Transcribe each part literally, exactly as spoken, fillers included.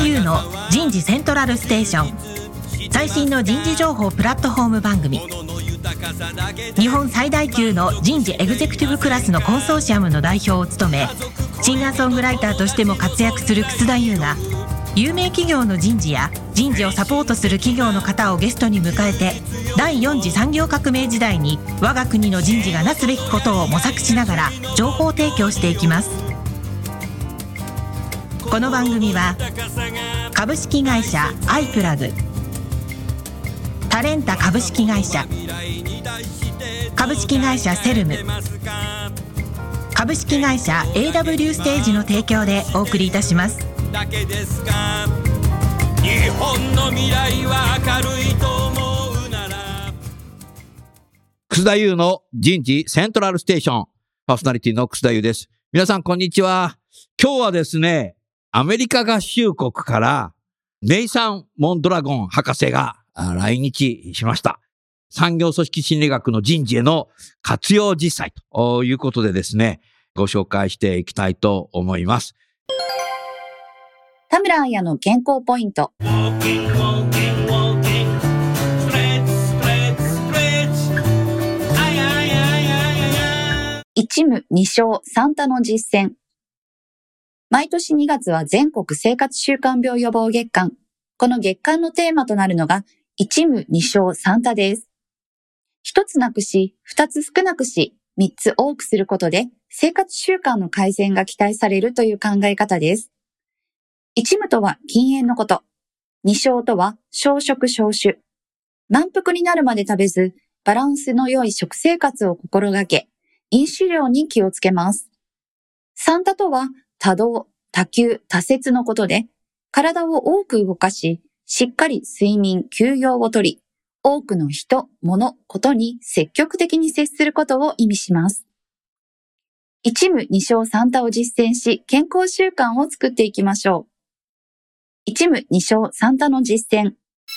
優の人事セントラルステーション、最新の人事情報プラットフォーム番組。日本最大級の人事エグゼクティブクラスのコンソーシアムの代表を務め、シンガーソングライターとしても活躍する楠田優が、有名企業の人事や人事をサポートする企業の方をゲストに迎えて、第よん次産業革命時代に我が国の人事がなすべきことを模索しながら情報提供していきます。この番組は株式会社アイプラグ、タレンタ株式会社、株式会社セルム、株式会社 エーダブリュー ステージの提供でお送りいたします。だけですか。日本の未来は明るいと思うなら。 楠田優の人事セントラルステーション、パーソナリティの楠田優です。皆さんこんにちは。今日はですね、アメリカ合衆国からネイサン・モンドラゴン博士が来日しました。産業組織心理学の人事への活用実際ということでですね、ご紹介していきたいと思います。 田村彩の健康ポイント。一務二商三多の実践。毎年にがつは全国生活習慣病予防月間。この月間のテーマとなるのが一務二商三多です。一つなくし、二つ少なくし、三つ多くすることで生活習慣の改善が期待されるという考え方です。一務とは禁煙のこと。二商とは少食少酒。満腹になるまで食べず、バランスの良い食生活を心がけ、飲酒量に気をつけます。三多とは多動、多休、多節のことで、体を多く動かし、しっかり睡眠、休養をとり、多くの人、物、ことに積極的に接することを意味します。一務二商三多を実践し、健康習慣を作っていきましょう。一務二商三多の実践。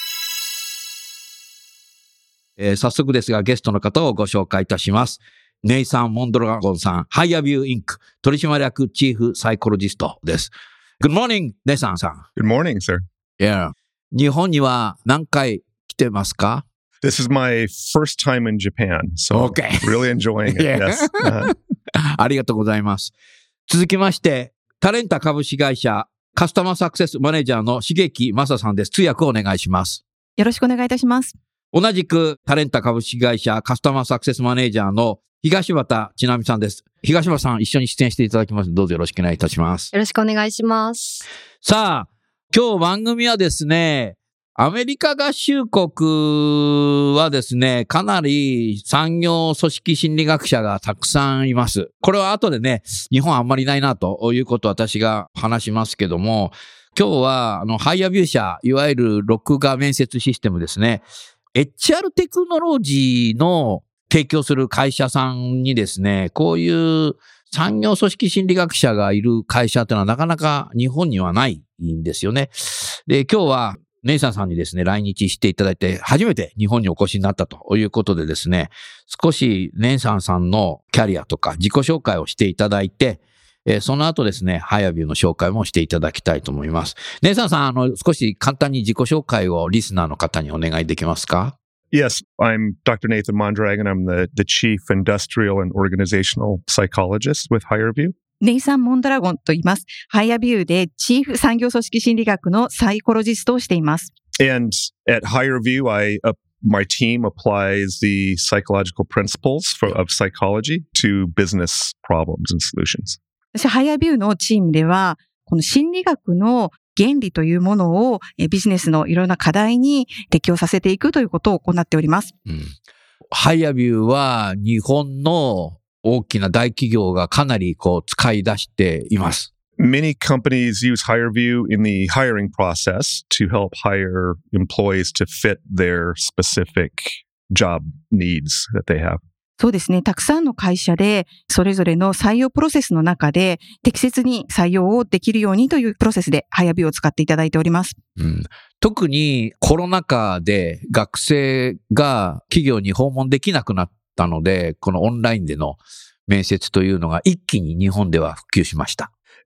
えー、早速ですがゲストの方をご紹介いたします。ネイサン・モンドラゴンさん、ハイアビューインク取締役チーフサイコロジストです。Good morning, ネイサンさん。 Good morning, sir. Yeah. 日本には何回来てますか？ This is my first time in Japan, so Okay. really enjoying it. Yeah. Yes. Uh, ありがとうございます。続きまして、タレンタ株式会社カスタマーサクセスマネージャーの重木正さんです。通訳をお願いします。 よろしくお願いいたします。 同じくタレンタ株式会社カスタマーサクセスマネージャーの東畑千奈美さんです。東畑さん、一緒に出演していただきます。どうぞよろしくお願いいたします。 よろしくお願いします。 さあ、今日番組はですね、アメリカ合衆国はですね、かなり産業組織心理学者がたくさんいます。これは後でね、日本あんまりいないなということを私が話しますけども、今日はあのハイアビュー社、いわゆる録画面接システムですね、エイチアール テクノロジーの提供する会社さんにですね、こういう産業組織心理学者がいる会社というのはなかなか日本にはないんですよね。で、今日はネイサンさんにですね、来日していただいて、初めて日本にお越しになったということでですね、少しネイサンさんのキャリアとか自己紹介をしていただいて、えー、その後ですね、ハイアビューの紹介もしていただきたいと思います。ネイサンさん、あの、少し簡単に自己紹介をリスナーの方にお願いできますか？ yes, I'm Doctor Nathan Mondragon. I'm the, the Chief Industrial and Organizational Psychologist with HireView. ネイサン・モンドラゴンと言います。ハイアビューでチーフ産業組織心理学のサイコロジストをしています。 And at HireView, I, uh, my team applies the psychological principles for, of psychology to business problems and solutions. 私、ハイアビューのチームでは、この心理学の原理というものをビジネスのいろんな課題に適用させていくということを行っております。 うん、ハイアビューは日本の大きな大企業がかなりこう使い出しています。 Many companies use HireView in the hiring process to help hire employees to fit their specific job needs that they have. そうですね。たくさんの会社でそれぞれの採用プロセスの中で適切に採用をできるようにというプロセスでハイアビューを使っていただいております。 うん、特にコロナ禍で学生が企業に訪問できなくなったので、このオンラインでの面接というのが一気に日本では普及しました。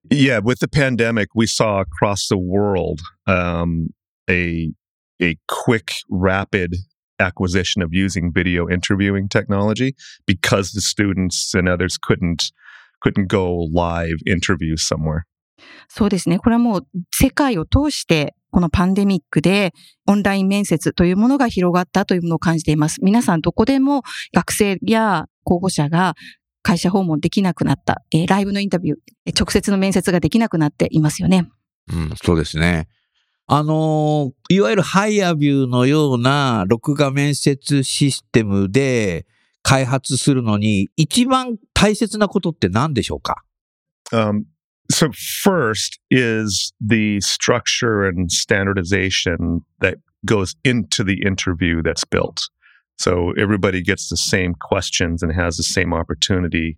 Yeah, with the pandemic, we saw across the world um, a a quick, rapid acquisition of using video interviewing technology because the students and others couldn't couldn't go live interview somewhere. そうですね。これはもう世界を通してこのパンデミックでオンライン面接というものが広がったというものを感じています。皆さんどこでも学生や候補者が会社訪問できなくなった、えー、ライブのインタビュー、直接の面接ができなくなっていますよね。 うん、そうですね。あのー、いわゆるハイアビューのような録画面接システムで開発するのに一番大切なことって何でしょうか？ Um, so first is the structure and standardization that goes into the interview that's built.So everybody gets the same questions and has the same opportunity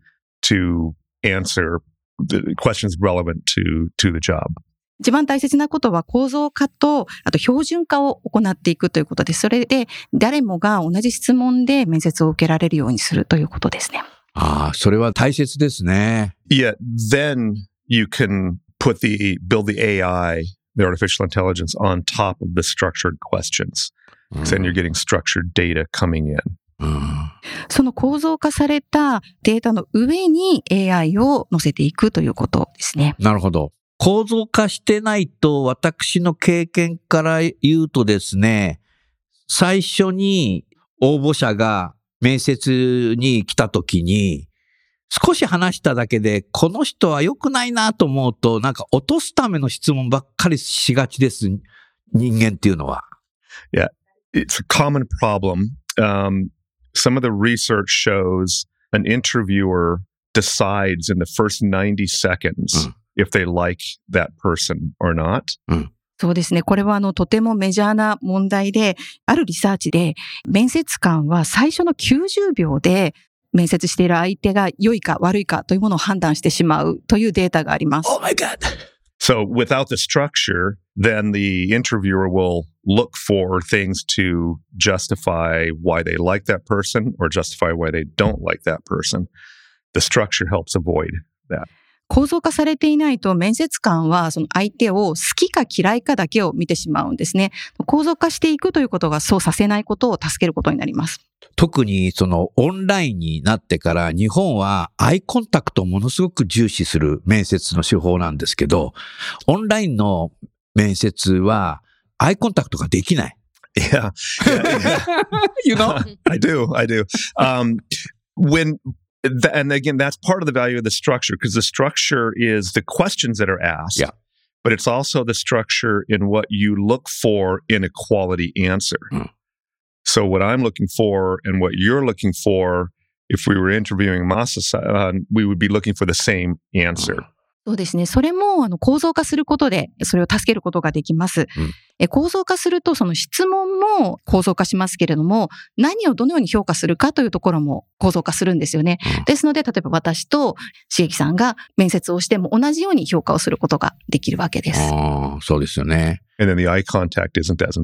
to answer the questions relevant to, to the job. 一番大切なことは構造化と、あと標準化を行っていくということです。それで誰もが同じ質問で面接を受けられるようにするということですね。 ああ、それは大切ですね。 Yeah, then you can put the, build the A I, the artificial intelligence on top of the structured questions.Because then you're getting structured data coming in. うん、 その構造化されたデータの上に エーアイ を載せていくということですね。 なるほど。構造化してないと、私の経験から言うとですね、最初に応募者が面接に来た時に、少し話しただけで、この人は良くないなと思うと、なんか落とすための質問ばっかりしがちです。人間っていうのは。 Yeah.It's a common problem. Um, some of the research shows an interviewer decides in the first ninety seconds、うん、if they like that person or not、 うん、 そうですね。これはあのとてもメジャーな問題で、あるリサーチで面接官は最初のきゅうじゅうびょうで面接している相手が良いか悪いかというものを判断してしまうというデータがあります。 Oh my God!So without the structure, then the interviewer will look for things to justify why they like that person or justify why they don't like that person. The structure helps avoid that. 構造化されていないと面接官はその相手を好きか嫌いかだけを見てしまうんですね。構造化していくということがそうさせないことを助けることになります。 特にそのオンラインになってから日本はアイコンタクトをものすごく重視する面接の手法なんですけど、オンラインの面接はアイコンタクトができない。 Yeah. yeah. You know? I do. I do. Um, when, th- and again, that's part of the value of the structure because the structure is the questions that are asked. Yeah. But it's also the structure in what you look for in a quality answer.、Mm.So what I'm looking for and what you're looking for, if we were interviewing Masa-san, we would be looking for the same answer. そうですね。それもあの構造化することでそれを助けることができます。 うん、 え構造化するとその質問も構造化しますけれども、何をどのように評価するかというところも構造化するんですよね。 うん、 ですので、例えば私と茂樹さんが面接をしても同じように評価をすることができるわけです。 ああ、そうですよね。 And then the eye contact isn't as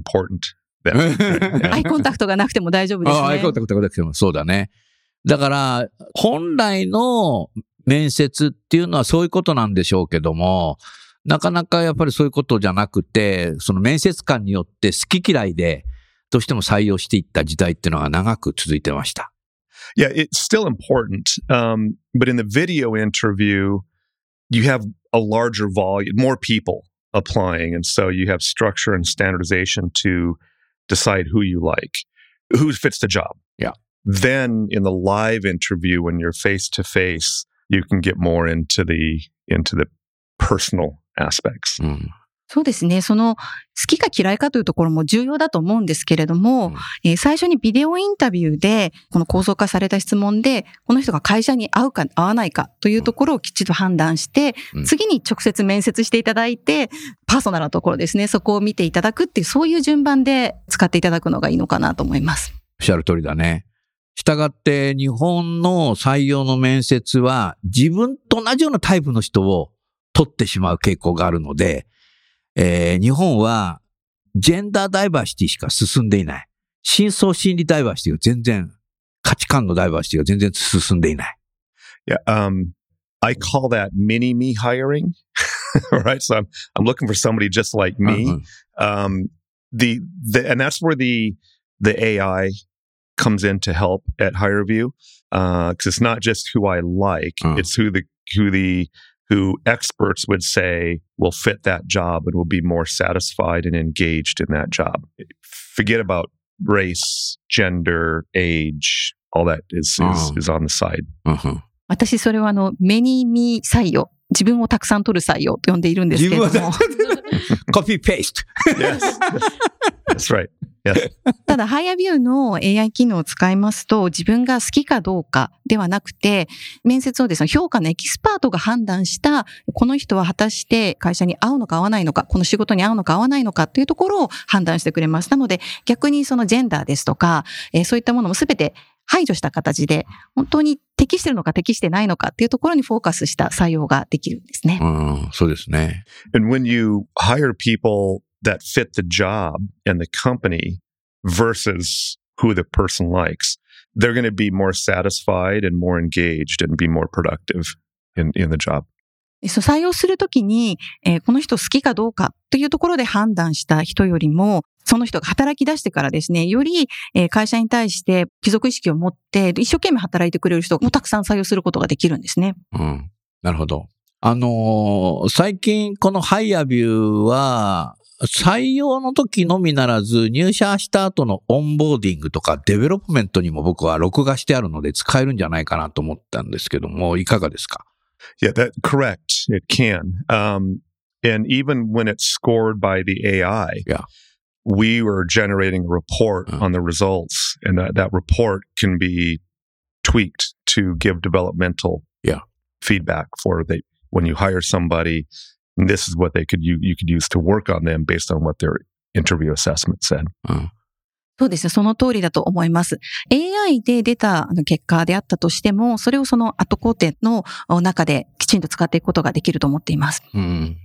important. アイコンタクトがなくても大丈夫ですね。 ああ、アイコンタクトがなくてもそうだね。だから、本来の面接っていうのはそういうことなんでしょうけども、なかなかやっぱりそういうことじゃなくて、その面接官によって好き嫌いでどうしても採用していった時代っていうのが長く続いてました。 Yeah, it's still important. Um, but in the video interview, you have a larger volume, more people applying. And so you have structure and standardization to decide who you like, who fits the job. Yeah. Then in the live interview, when you're face to face, you can get more into the, into the personal aspects. うん、 そうですね。その好きか嫌いかというところも重要だと思うんですけれども、うんえー、最初にビデオインタビューでこの構造化された質問でこの人が会社に合うか合わないかというところをきちっと判断して、うん、次に直接面接していただいてパーソナルなところですね、そこを見ていただくっていうそういう順番で使っていただくのがいいのかなと思います。 おっしゃる通りだね。したがって日本の採用の面接は自分と同じようなタイプの人を取ってしまう傾向があるので、えー、日本はジェンダーダイバーシティしか進んでいない。深層心理ダイバーシティが全然、価値観のダイバーシティが全然進んでいない。 Yeah, um, I call that mini me hiring. All right. So I'm, I'm looking for somebody just like me. Uh-huh. Um, the, the, and that's where the, the A I comes in to help at HireVue. Uh, cause it's not just who I like, uh-huh. it's who the, who the, who experts would say will fit that job and will be more satisfied and engaged in that job. Forget about race, gender, age, all that is, uh-huh. is, is on the side. Uh-huh. 私それはあの、メニーミー採用。自分をたくさん取る採用と呼んでいるんですけれども。 コピーペースト。 Yes. That's right. Yes. ただ、HireVueの エーアイ 機能を使いますと、自分が好きかどうかではなくて、面接をですね、評価のエキスパートが判断した、この人は果たして会社に合うのか合わないのか、この仕事に合うのか合わないのかというところを判断してくれます。なので、逆にそのジェンダーですとか、えー、そういったものもすべて排除した形で、本当に適しているのか適してないのかっていうところにフォーカスした採用ができるんですね。 うん、そうですね。 And when you hire people that fit the job and the company versus who the person likes, they're going to be more satisfied and more engaged and be more productive in, in the job. そう採用するときに、えー、この人好きかどうかというところで判断した人よりも、その人が働き出してからですね、より、えー、会社に対して帰属意識を持って一生懸命働いてくれる人もたくさん採用することができるんですね。 うん。なるほど。あのー、最近このHireVueは採用の時のみならず入社した後のオンボーディングとかデベロップメントにも僕は録画してあるので使えるんじゃないかなと思ったんですけども、いかがですか？ Yeah, that correct. It can. Um, and even when it's scored by the A I, yeah. we were generating a report uh-huh. on the results, and that, that report can be tweaked to give developmental yeah. feedback for the, when you hire somebody, this is what they could you, you could use to work on them based on what their interview assessment said. Uh-huh. そうですね。その通りだと思います。エーアイ で出た結果であったとしても、それをその後工程の中できちんと使っていくことができると思っています。 Mm.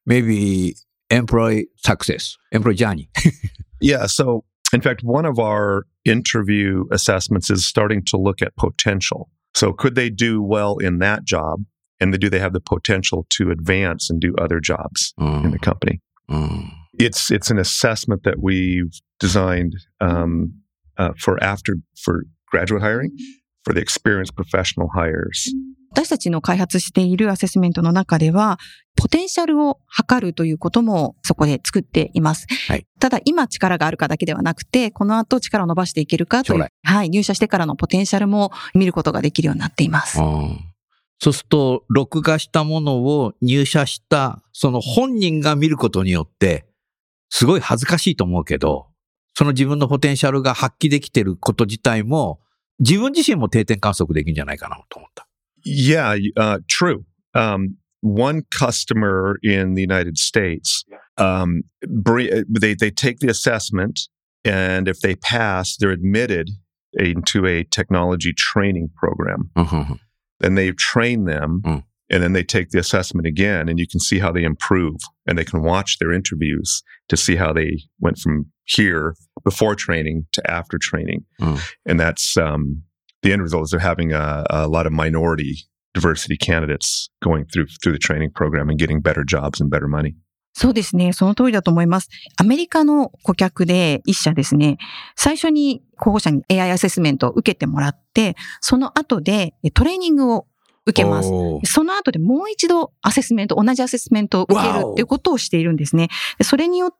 Maybe employee success, employee journey. Yeah. So, in fact, one of our interview assessments is starting to look at potential. So, could they do well in that job? And do they have the potential to advance and do other jobs mm. in the company? Mm. It's it's an assessment that we've designed um, uh, for after for graduate hiring, for the experienced professional hires. 私たちの開発しているアセスメントの中では、ポテンシャルを測るということもそこで作っています。 はい、 ただ今力があるかだけではなくて、この後力を伸ばしていけるかという、はい、入社してからのポテンシャルも見ることができるようになっています。 そうすると、録画したものを入社したその本人が見ることによって、すごい恥ずかしいと思うけど、その自分のポテンシャルが発揮できていること自体も、自分自身も定点観測できるんじゃないかなと思った。 Yeah, uh, true. Um, one customer in the United States, um, they, they take the assessment, and if they pass, they're admitted into a technology training program. Uh-huh. Then they train them, uh-huh. and then they take the assessment again, and you can see how they improve, and they can watch their interviews to see how they went from here before training to after training. Uh-huh. And that's... Um, the end result is they're having a, a lot of minority diversity candidates going through through the training program and getting better jobs and better money. そうですね。その通りだと思います。アメリカの顧客で一社ですね、最初に候補者に エーアイ アセスメントを受けてもらって、その後でトレーニングを受けます。その後でもう一度アセスメント、同じアセスメントを受けるっていうことをしているんですね。それによって、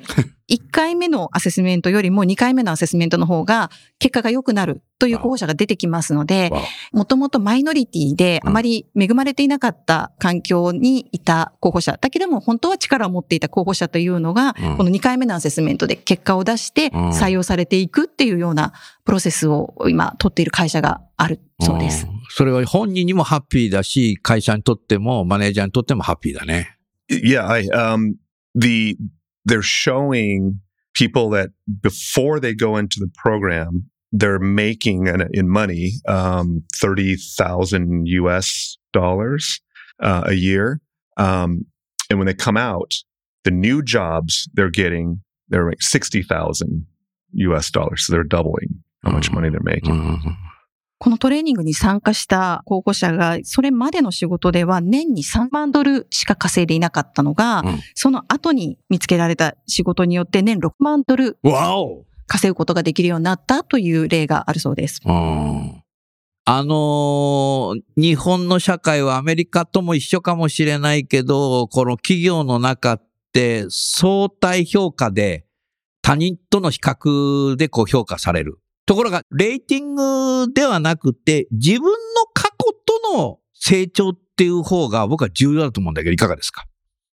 いっかいめのアセスメントよりもにかいめのアセスメントの方が結果が良くなるという候補者が出てきますので、もともとマイノリティであまり恵まれていなかった環境にいた候補者、だけども本当は力を持っていた候補者というのが、このにかいめのアセスメントで結果を出して採用されていくっていうようなプロセスを今取っている会社があるそうです。 それは本人にもハッピーだし、会社にとってもマネージャーにとってもハッピーだね。 Yeah, I, um, the, they're showing people that before they go into the program, they're making in, in money, um, thirty thousand U S dollars, uh, a year. Um, and when they come out, the new jobs they're getting, they're making sixty thousand U S dollars. So they're doubling how much money they're making. Mm-hmm. このトレーニングに参加した候補者が、それまでの仕事では年にさんまんドルしか稼いでいなかったのが、うん、その後に見つけられた仕事によって年ろくまんドル稼ぐことができるようになったという例があるそうです。 うん、あのー、日本の社会はアメリカとも一緒かもしれないけど、この企業の中って相対評価で他人との比較でこう評価される。ところが、レーティングではなくて、自分の過去との成長っていう方が僕は重要だと思うんだけど、いかがですか？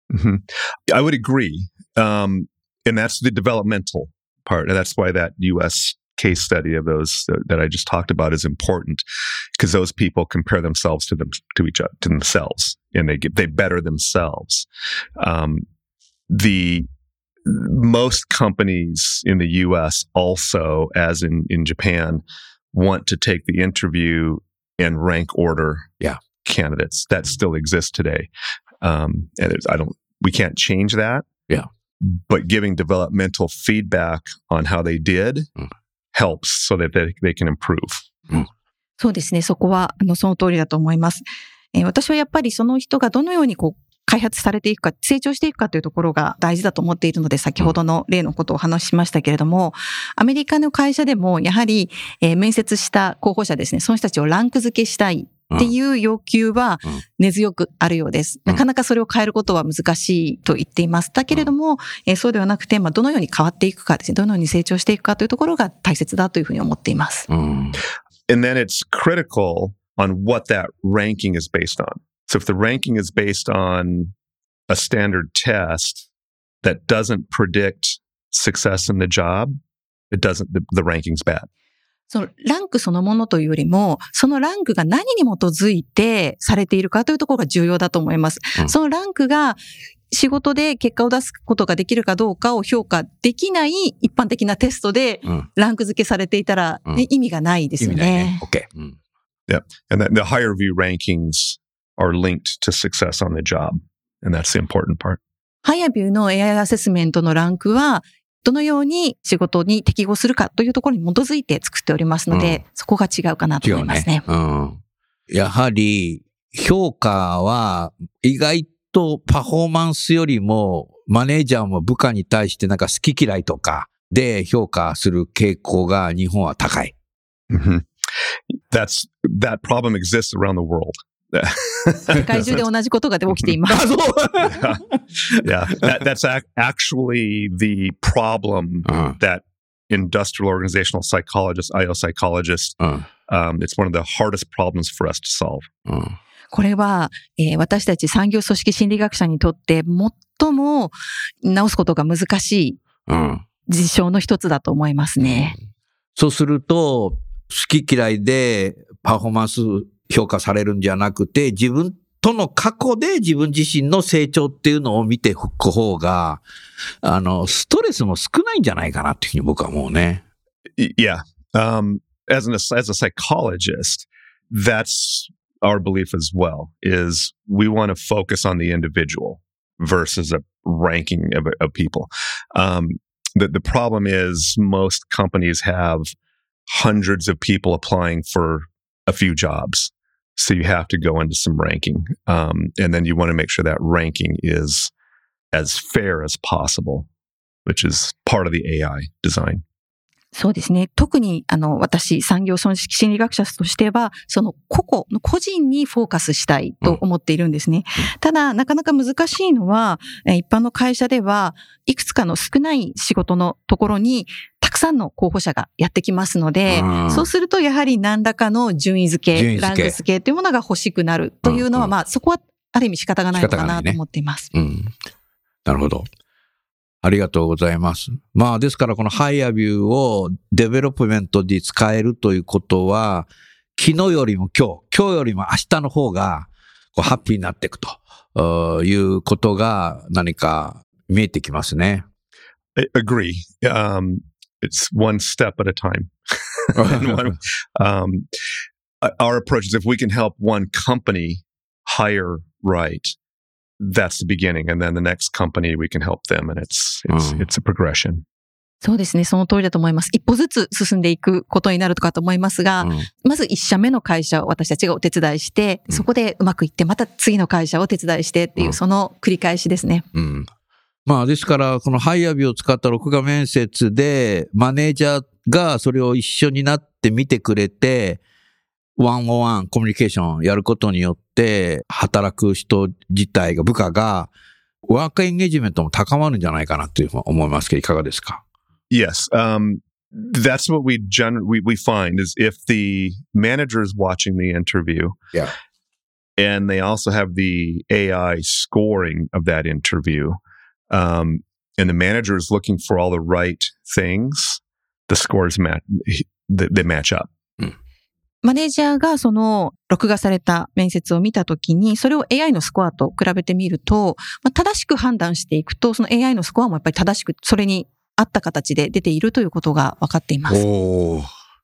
I would agree. Um, and that's the developmental part. And that's why that U S case study of those that I just talked about is important, because those people compare themselves to them, to each other, to themselves, and they get, they better themselves. Um, the Most companies in the U S also, as in, in Japan, want to take the interview and rank order yeah. candidates. That still exists today. Um, and it's, I don't, we can't change that. Yeah. But giving developmental feedback on how they did mm. helps so that they, they can improve. Mm. そうですね。そこは、あの、その通りだと思います。えー、私はやっぱりその人がどのようにこう、開発されていくか、成長していくかというところが大事だと思っているので、先ほどの例のことをお話ししましたけれども、アメリカの会社でもやはり、えー、面接した候補者ですね、その人たちをランク付けしたいっていう要求は根強くあるようです。なかなかそれを変えることは難しいと言っています。だけれども、えー、そうではなくて、まあ、どのように変わっていくかですね、どのように成長していくかというところが大切だというふうに思っています。 うん、 And then it's critical on what that ranking is based on. So if the ranking is based on a standard test that doesn't predict success in the job, it doesn't, the, the ranking's bad. そのランクそのものというよりも、そのランクが何に基づいてされているかというところが重要だと思います。うん、そのランクが仕事で結果を出すことができるかどうかを評価できない一般的なテストでランク付けされていたら、ね、うん、意味がないですよね。 意味ないね。OK、うん。 Yeah. And the, the higher view rankings are linked to success on the job.And that's the important part. ハイアビューの エーアイ アセスメントのランクは、どのように仕事に適合するかというところに基づいて作っておりますので、うん、そこが違うかなと思いますね。 違うね。うん。やはり、評価は意外とパフォーマンスよりも、マネージャーも部下に対してなんか好き嫌いとかで評価する傾向が日本は高い。 Mm-hmm. That's, that problem exists around the world. 世界中で同じことが起きています。 yeah, yeah. That, that's actually the problem uh. that industrial organizational psychologists, I O psychologists, uh. um, it's one of the hardest problems for us to solve. Uh. これは、えー、私たち産業組織心理学者にとって最も直すことが難しい事象の一つだと思いますね。 そうすると、好き嫌いでパフォーマンス評価されるんじゃなくて、自分との過去で自分自身の成長っていうのを見ていく方が、あの、ストレスも少ないんじゃないかなっていうふうに僕は思うね。 Yeah. Um, as an, as a psychologist, that's our belief as well, is we want to focus on the individual versus a ranking of, of people. Um, the, the problem is most companies have hundreds of people applying for a few jobs.So you have to go into some ranking. Um, and then you want to make sure that ranking is as fair as possible, which is part of the A I design. そうですね。特に、あの、私、産業組織心理学者としては、その個々の個人にフォーカスしたいと思っているんですね。うん、ただ、なかなか難しいのは、一般の会社では、いくつかの少ない仕事のところに、たくさんの候補者がやってきますので、うん、そうすると、やはり何らかの順位付け、順位付けランク付けというものが欲しくなるというのは、うんうん、まあ、そこは、ある意味仕方がないのかなと思っています。 ね、うん。なるほど。ありがとうございます。まあ、ですからこのハイアビューをデベロップメントで使えるということは、昨日よりも今日、今日よりも明日の方がこうハッピーになっていくということが何か見えてきますね。 I agree. Um, it's one step at a time. one, um, our approach is if we can help one company hire right.That's the beginning, and then the next company we can help them, and it's it's、うん、it's a progression. そうですね。その通りだと思います。一歩ずつ進んでいくことになるとかと思いますが、うん、まず一社目の会社を私たちがお手伝いして、うん、そこでうまくいって、また次の会社をお手伝いしてっていう、うん、その繰り返しですね。 うん。まあですから、このハイアビを使った録画面接で、マネージャーがそれを一緒になって見てくれて、ワンオンワンコミュニケーションをやることによって、働く人自体が、部下が、ワークエンゲージメントも高まるんじゃないかなというふうに思いますけど、いかがですか？ Yes. Um, that's what we, gen- we we find is if the manager is watching the interview, yeah, and they also have the A I scoring of that interview, um, and the manager is looking for all the right things, the scores match, they, they match up. マネージャーがその録画された面接を見たときに、それを エーアイ のスコアと比べてみると、まあ、正しく判断していくと、その エーアイ のスコアもやっぱり正しく、それに合った形で出ているということが分かっています。 Oh.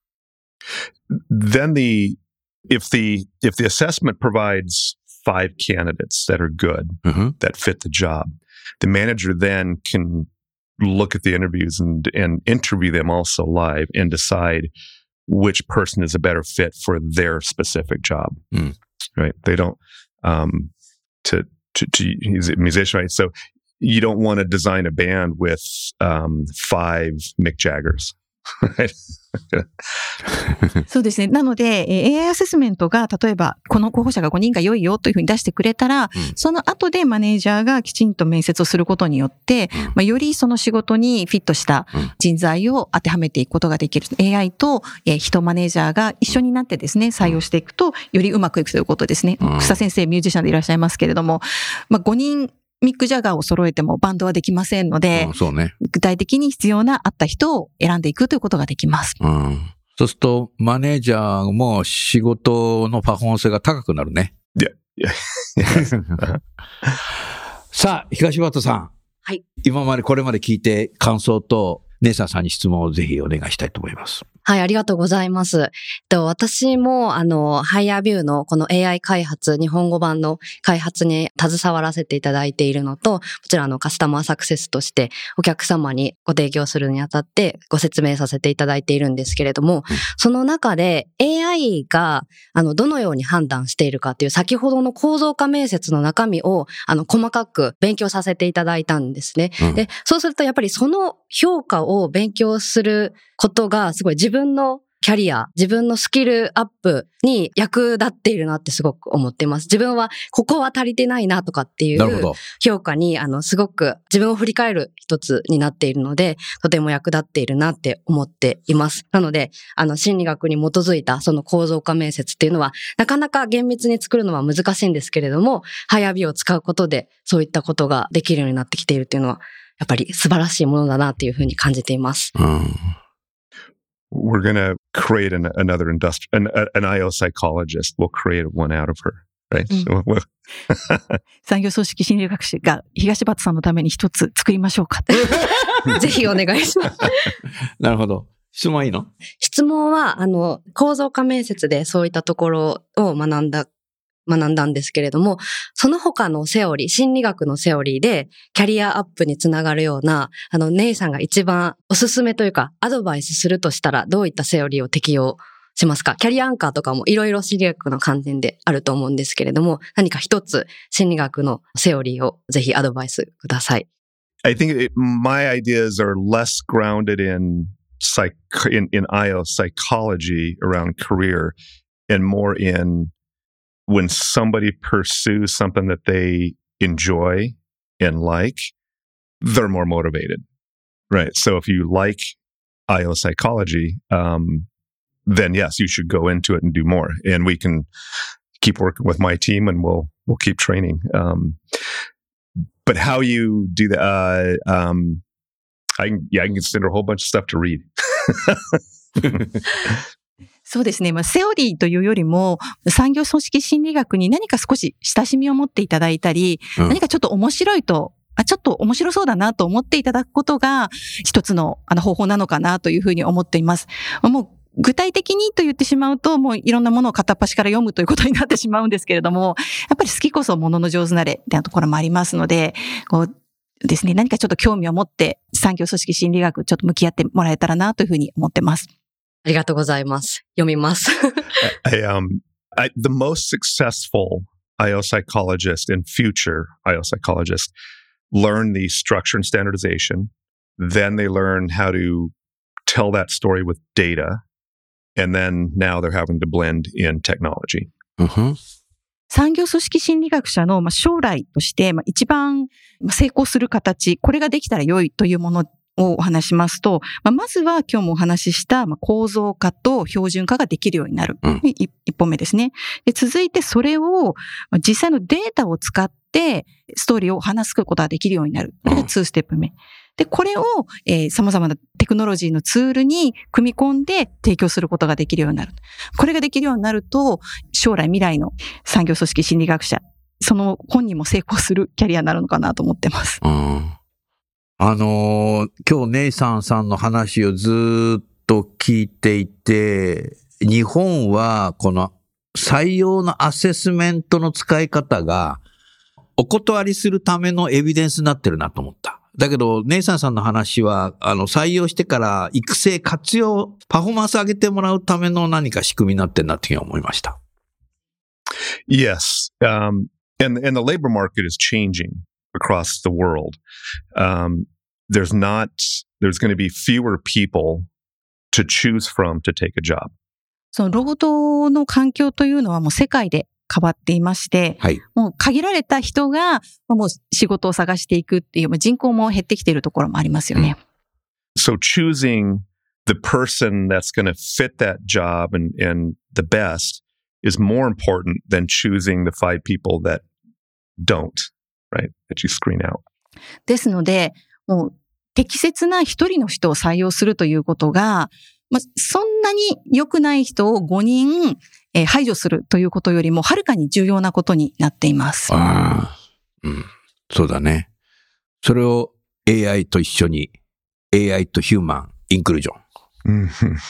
Then the, if the, if the assessment provides five candidates that are good, mm-hmm. that fit the job, the manager then can look at the interviews and, and interview them also live and decide which person is a better fit for their specific job. Mm. Right? They don't, um, to, to, to, he's a musician, right? So you don't want to design a band with, um, five Mick Jaggers. Right? そうですね。なので、エーアイ アセスメントが、例えば、この候補者がごにんが良いよというふうに出してくれたら、うん、その後でマネージャーがきちんと面接をすることによって、うんまあ、よりその仕事にフィットした人材を当てはめていくことができる。うん、エーアイ と、えー、人マネージャーが一緒になってですね、採用していくと、よりうまくいくということですね。うん、草先生、ミュージシャンでいらっしゃいますけれども、まあ、ごにん、ミック・ジャガーを揃えてもバンドはできませんので、 うん、そうね、 具体的に必要な合った人を選んでいくということができます。 うん、そうすると、マネージャーも仕事のパフォーマンスが高くなるね。 いや、いや。 さあ、東畑さん。 はい。 今までこれまで聞いて感想と、ネイサーさんに質問をぜひお願いしたいと思います。 はい、ありがとうございます。と私も、あの、ハイヤービューのこの エーアイ 開発、日本語版の開発に携わらせていただいているのと、もちろんあの、カスタマーサクセスとしてお客様にご提供するにあたってご説明させていただいているんですけれども、うん、その中で エーアイ が、あの、どのように判断しているかっていう先ほどの構造化面接の中身を、あの、細かく勉強させていただいたんですね。うん、で、そうするとやっぱりその評価を勉強することがすごい自分のキャリア、自分のスキルアップに役立っているなってすごく思っています。自分はここは足りてないなとかっていう評価に、あの、すごく自分を振り返る一つになっているので、とても役立っているなって思っています。なので、あの、心理学に基づいたその構造化面接っていうのは、なかなか厳密に作るのは難しいんですけれども、ハイアビを使うことでそういったことができるようになってきているっていうのは、やっぱり素晴らしいものだなっていうふうに感じています。うん、 We're going to create an, another industri- an, an I O psychologist. We'll create one out of her, right? うん、 産業組織心理学士が東畑さんのために一つ作りましょうか。 ぜひお願いします。 なるほど。質問いいの？ 質問は、あの、構造化面接でそういったところを学んだ学んだんですけれども、その他のセオリー、心理学のセオリーでキャリアアップにつながるような、あの、ネイさんが一番おすすめというか、アドバイスするとしたら、どういったセオリーを適用しますか？キャリアアンカーとかもいろいろ心理学の観点であると思うんですけれども、何か一つ心理学のセオリーをぜひアドバイスください。 I think it, my ideas are less grounded in, psych, in, in I O psychology around career and more in when somebody pursues something that they enjoy and like, they're more motivated, right? So if you like I O psychology, um, then yes, you should go into it and do more. And we can keep working with my team and we'll, we'll keep training. Um, but how you do that, uh, um, I can, yeah, I can consider a whole bunch of stuff to read. そうですね。まあ、セオリーというよりも、産業組織心理学に何か少し親しみを持っていただいたり、うん、何かちょっと面白いと、あ、ちょっと面白そうだなと思っていただくことが、一つのあの方法なのかなというふうに思っています。もう具体的にと言ってしまうと、もういろんなものを片っ端から読むということになってしまうんですけれども、やっぱり好きこそものの上手なれっていうところもありますので、こうですね、何かちょっと興味を持って産業組織心理学ちょっと向き合ってもらえたらなというふうに思ってます。 ありがとうございます。読みます。 I, um, I, the most successful I O psychologist and future I O psychologist learn the structure and standardization. Then they learn how to tell that story with data. And then now they're having to blend in technology. Uh-huh. 産業組織心理学者の将来として一番成功する形、これができたら良いというものをお話しますと、まずは今日もお話しした構造化と標準化ができるようになる。うん、一本目ですね。で、続いてそれを実際のデータを使ってストーリーを話すことができるようになる。これがにステップ目。で、これを、えー、様々なテクノロジーのツールに組み込んで提供することができるようになる。これができるようになると、将来未来の産業組織心理学者、その本人も成功するキャリアになるのかなと思ってます。 うん、あのー、今日ネイサンさんの話をずっと聞いていて、日本はこの採用のアセスメントの使い方がお断りするためのエビデンスになってるなと思った。だけど、ネイサンさんの話は、あの、採用してから育成、活用、パフォーマンス上げてもらうための何か仕組みになってるなっていうふうに思いました。 Yes. Um, and, and the labor market is changing across the world. Um, there's not, there's going to be fewer people to choose from to take a job. その労働の環境というのはもう世界で変わっていまして、はい、もう限られた人がもう仕事を探していくっていう、人口も減ってきているところもありますよね。 So choosing the person that's going to fit that job and, and the best is more important than choosing the five people that don't, right? That you screen out. ですので、もう適切な一人の人を採用するということが、まあ、そんなに良くない人をごにんえー、排除するということよりもはるかに重要なことになっています。 ああ、うん、そうだね。それを エーアイ と一緒に エーアイ とヒューマンインクルージョン。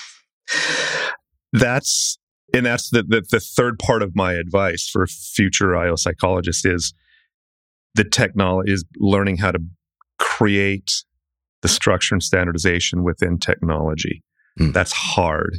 That's and that's the, the the third part of my advice for future I O psychologists is the technology is learning how to create the structure and standardization within technology. Mm. That's hard.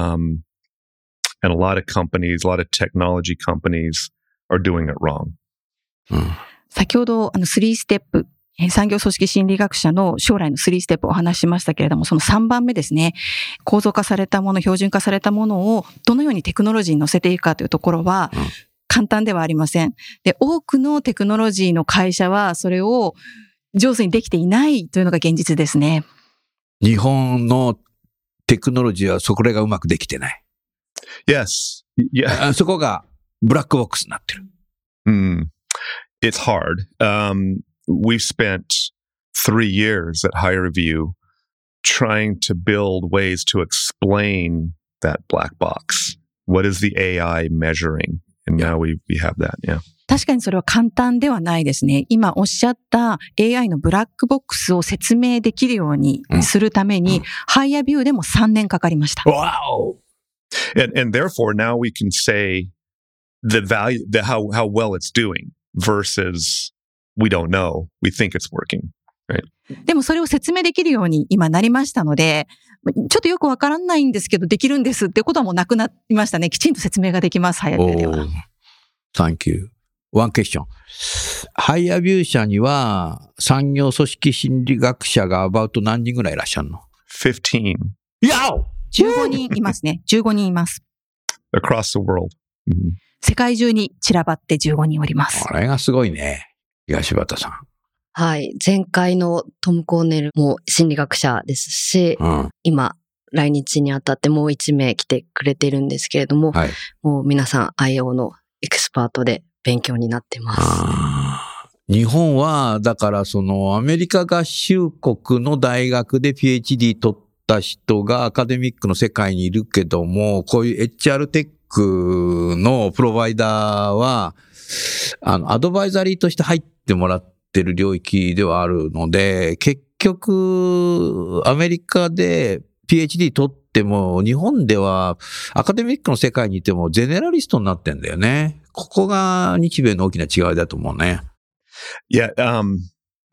Um,And a lot of companies, a lot of technology companies are doing it wrong. うん、先ほどあのさんステップ、産業組織心理学者の将来のさんステップをお話ししましたけれども、そのさんばんめですね。構造化されたもの、標準化されたものをどのようにテクノロジーに乗せていくかというところは簡単ではありません。で、多くのテクノロジーの会社はそれを上手にできていないというのが現実ですね。 日本のテクノロジーはそこらがうまくできてない。 Yes. Yeah. そこがブラックボックスになってる。 Mm. It's hard. Um, we've spent three years at HireVue trying to build ways to explain that black box. What is the A I measuring? And now we, we have that. Yeah. 確かにそれは簡単ではないですね。今おっしゃった エーアイ のブラックボックスを説明できるようにするために、うん、HireVueでもさんねんかかりました。 Wow! And, and therefore, now we can say the value, the, how, how well it's doing versus we don't know. We think it's working, right? でもそれを説明できるように今なりましたので、ちょっとよくわからないんですけど、できるんですってことはもうなくなりましたね。きちんと説明ができます、HireVueでは。 Thank you. One question. HireVue社には産業組織心理学者が about 何人ぐらいいらっしゃるの ?fifteen. Yo! じゅうごにんいますね。じゅうごにんいます。 Across the world. Mm-hmm. 世界中に散らばってじゅうごにんおります。 これがすごいね。東畑さん。 はい。前回のトム・コーネルも心理学者ですし、うん、今、来日にあたってもう一名来てくれてるんですけれども、はい、もう皆さん アイオー のエキスパートで勉強になってます。 日本は、だからそのアメリカ合衆国の大学で ピーエイチディー 取った人がアカデミックの世界にいるけども、こういう エイチアール テックのプロバイダーは、あの、アドバイザリーとして入ってもらってる領域ではあるので、結局、アメリカで ピーエイチディー 取っても、日本ではアカデミックの世界にいてもゼネラリストになってんだよね。ここが日米の大きな違いだと思うね。 Yeah, um,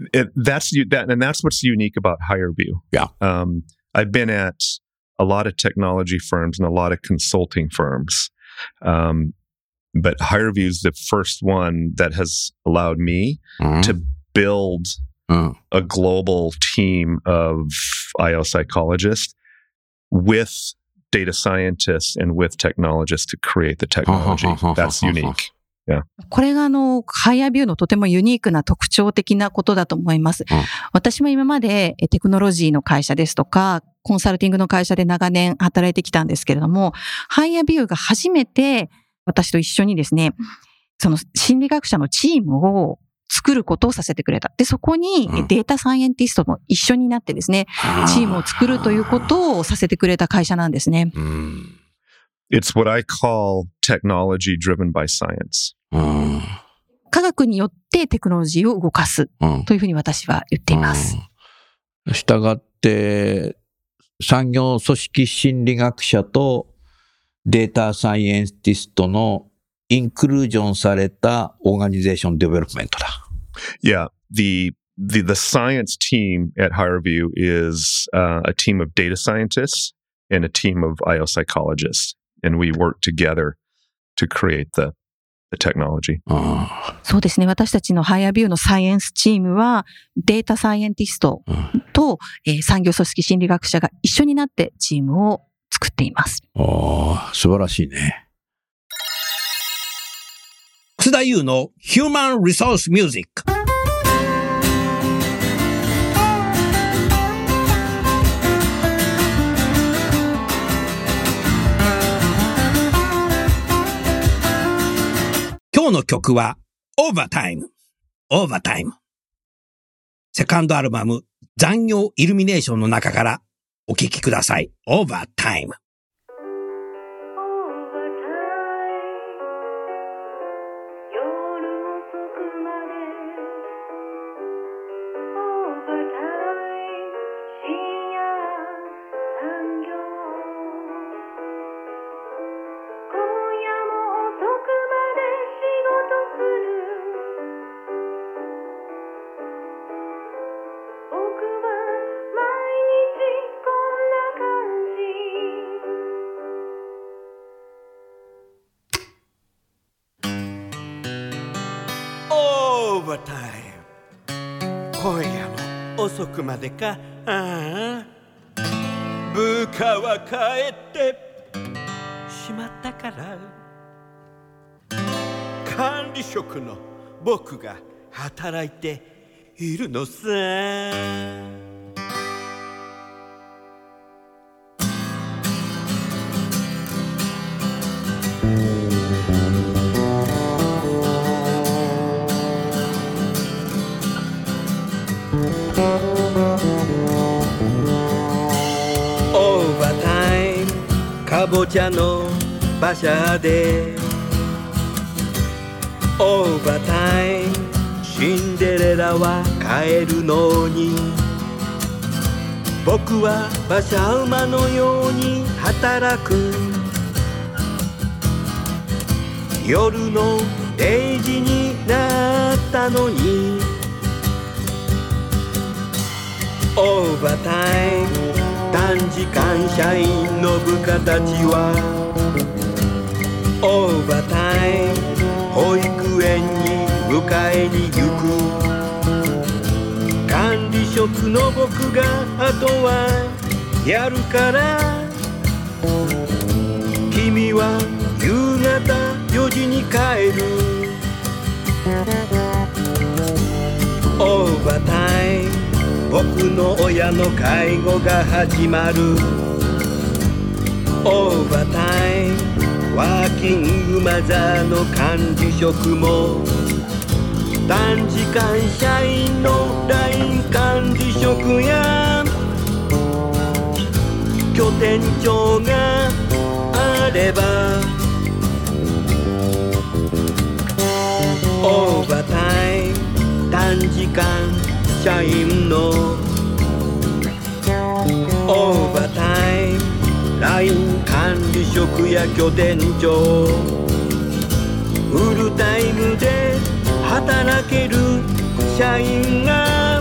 it, that's you that and that's what's unique about HireVue. Yeah. Um, I've been at a lot of technology firms and a lot of consulting firms. Um, but HireVue is the first one that has allowed me mm-hmm. to build mm. a global team of I O psychologists with data scientists and with technologists to create the technology. That's unique. Yeah. これがあの、ハイアビューのとてもユニークな特徴的なことだと思います。うん、私も今までテクノロジーの会社ですとか、コンサルティングの会社で長年働いてきたんですけれども、ハイアビューが初めて私と一緒にですね、その心理学者のチームを作ることをさせてくれた。で、そこにデータサイエンティストも一緒になってですね、うん、チームを作るということをさせてくれた会社なんですね。うん、 It's what I call technology driven by science. うん、 科学によってテクノロジーを動かすというふうに私は言っています。 うん、したがって、産業組織心理学者とデータサイエンティストのインクルージョンされたオーガニゼーションデベロップメントだ。 Yeah, the the the science team at HireVue is uh, a team of data scientists and a team of I O psychologists, and we work together to create the the technology. そうですね。私たちのハイアビューのサイエンスチームはデータサイエンティストと、えー、産業組織心理学者が一緒になってチームを作っています。 ああ、素晴らしいね。 楠田優の Human Resource Music。今日の曲は Overtime。Overtime。セカンドアルバム残業イルミネーションの中からお聴きください。Overtime。 今夜も遅くまでか。ああ、部下は帰ってしまったから、管理職の僕が働いているのさ。かぼちゃの馬車でオーバータイム、シンデレラは帰るのに、僕は馬車馬のように働く。夜のれいじになったのにオーバータイム、短時間社員の部下たちはオーバータイム、保育園に迎えに行く。管理職の僕があとはやるから、君は夕方よじに帰る。オーバータイム、僕の親の介護が始まる。オーバータイム、ワーキングマザーの管理職も、短時間社員の ライン 管理職や拠点長があれば、オーバータイム、短時間社員のオーバータイム、 ライン 管理職や拠点長、フルタイムで働ける社員が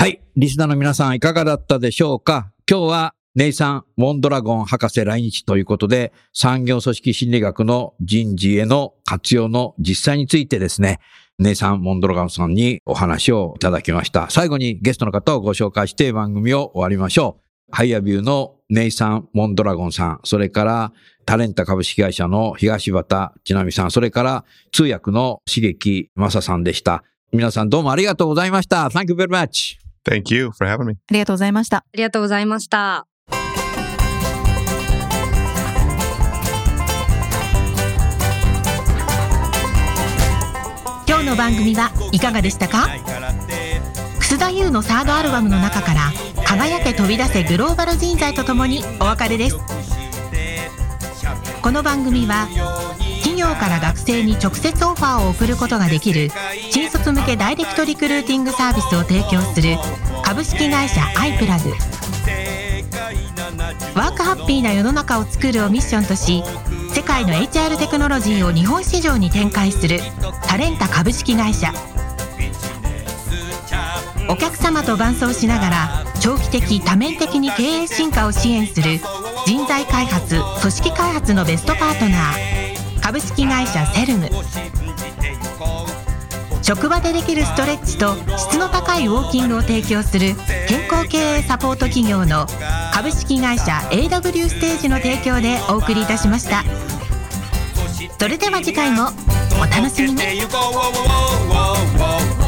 はい。リスナーの皆さんいかがだったでしょうか。今日はネイサン・モンドラゴン博士来日ということで、産業組織心理学の人事への活用の実際についてですね、ネイサン・モンドラゴンさんにお話をいただきました。最後にゲストの方をご紹介して番組を終わりましょう。ハイアビューのネイサン・モンドラゴンさん、それからタレンタ株式会社の東畑千奈美さん、それから通訳の茂木正さんでした。皆さんどうもありがとうございました。Thank you very much. Thank you for having me. ありがとうございました。 ありがとうございました。 今日の番組はいかがでしたか？楠田優のサードアルバムの中から輝け飛び出せグローバル人材とともにお別れです。この番組は企業から学生に直接オファーを送ることができる新卒向けダイレクトリクルーティングサービスを提供する株式会社アイプラグ、ワークハッピーな世の中を作るをミッションとし、世界の エイチアール テクノロジーを日本市場に展開するタレンタ株式会社。お客様と伴走しながら長期的多面的に経営進化を支援する人材開発・組織開発のベストパートナー株式会社セルム。職場でできるストレッチと質の高いウォーキングを提供する健康経営サポート企業の株式会社 エーダブリュー ステージの提供でお送りいたしました。それでは次回もお楽しみに。